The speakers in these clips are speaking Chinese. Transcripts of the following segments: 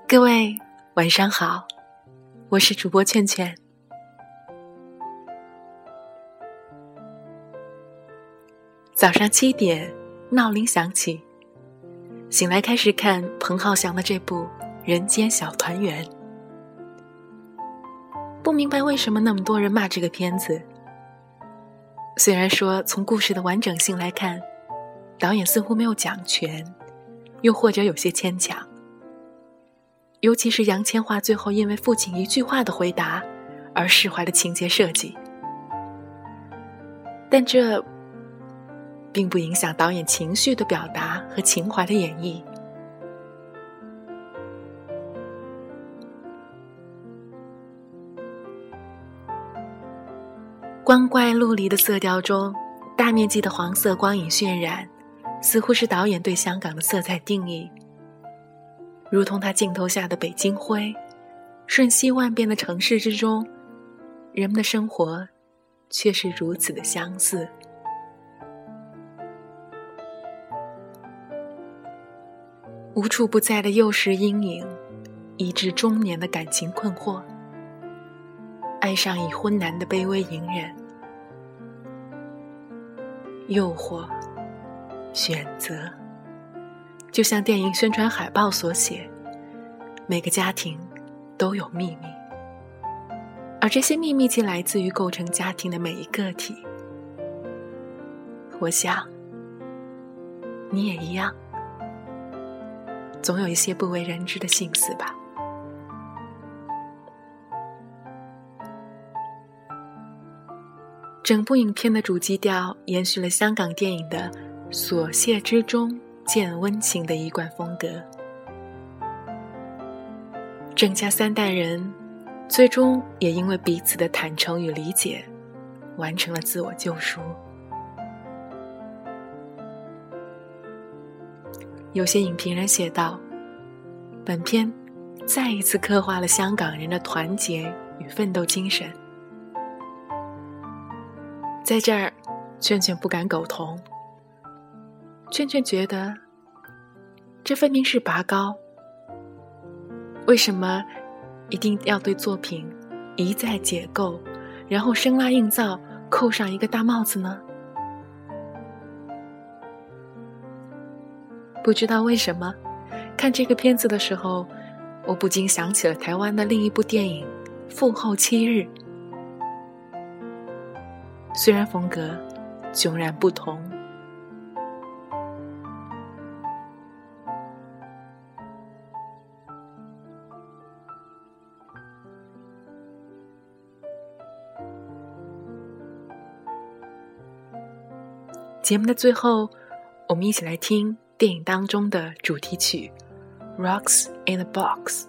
各位晚上好，我是主播劝劝。早上7点，闹铃响起，醒来开始看彭浩翔的这部《人间小团圆》。不明白为什么那么多人骂这个片子。虽然说从故事的完整性来看，导演似乎没有讲全，又或者有些牵强。尤其是杨千嬅最后因为父亲一句话的回答而释怀的情节设计，但这并不影响导演情绪的表达和情怀的演绎。光怪陆离的色调中，大面积的黄色光影渲染，似乎是导演对香港的色彩定义。如同他镜头下的北京灰，瞬息万变的城市之中，人们的生活却是如此的相似。无处不在的幼时阴影，以至中年的感情困惑，爱上已婚男的卑微隐忍，诱惑，选择，就像电影宣传海报所写，每个家庭都有秘密，而这些秘密既来自于构成家庭的每一个体。我想你也一样，总有一些不为人知的心思吧。整部影片的主基调延续了香港电影的琐屑之中见温情的一贯风格。郑家3代人最终也因为彼此的坦诚与理解，完成了自我救赎。有些影评人写道，本片再一次刻画了香港人的团结与奋斗精神。在这儿，劝劝不敢苟同。劝劝觉得，这分明是拔高。为什么一定要对作品一再解构，然后生拉硬造，扣上一个大帽子呢？不知道为什么，看这个片子的时候，我不禁想起了台湾的另一部电影《父后7日》。虽然风格迥然不同，节目的最后，我们一起来听电影当中的主题曲《Rocks in a Box》。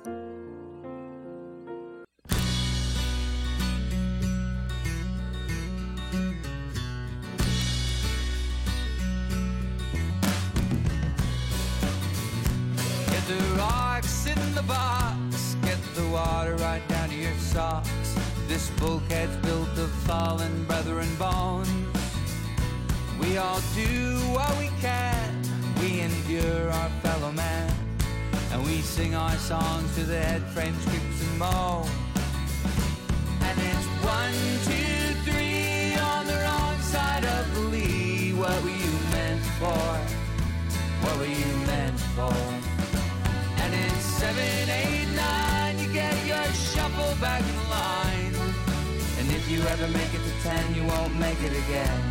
Box, get the water right down to your socks. This bulkhead's built of fallen brethren bones. We all do what we can, we endure our fellow man, and we sing our songs to the head frames, creaks and moan. And it's 1, 2, 3 on the wrong side of the lee. What were you meant for? What were you meant for? And it's 7, 8, 9, you get your shuffle back in line. And if you ever make it to 10, you won't make it again.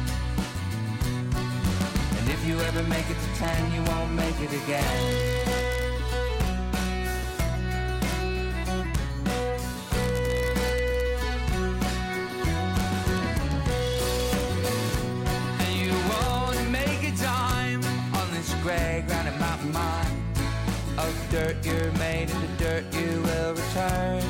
And if you ever make it to 10, you won't make it again. And you won't make a dime on this gray granite mountain mine. Of dirt you're made, and the dirt you will return.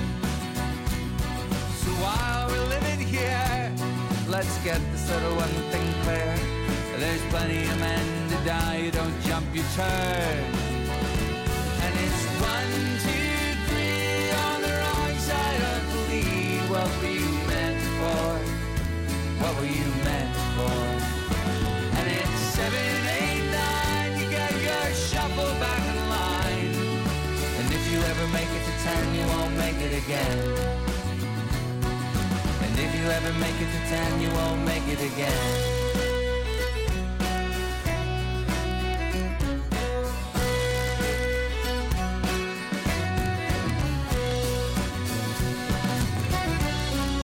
So while we're living here, let's get this little one thing clear. There's plenty of men to die, you don't jump, you turn. And it's 1, 2, 3 on the wrong side of the lead. What were you meant for? What were you meant for? And it's 7, 8, 9, you get your shuffle back in line. And if you ever make it to 10, you won't make it again. And if you ever make it to 10, you won't make it again.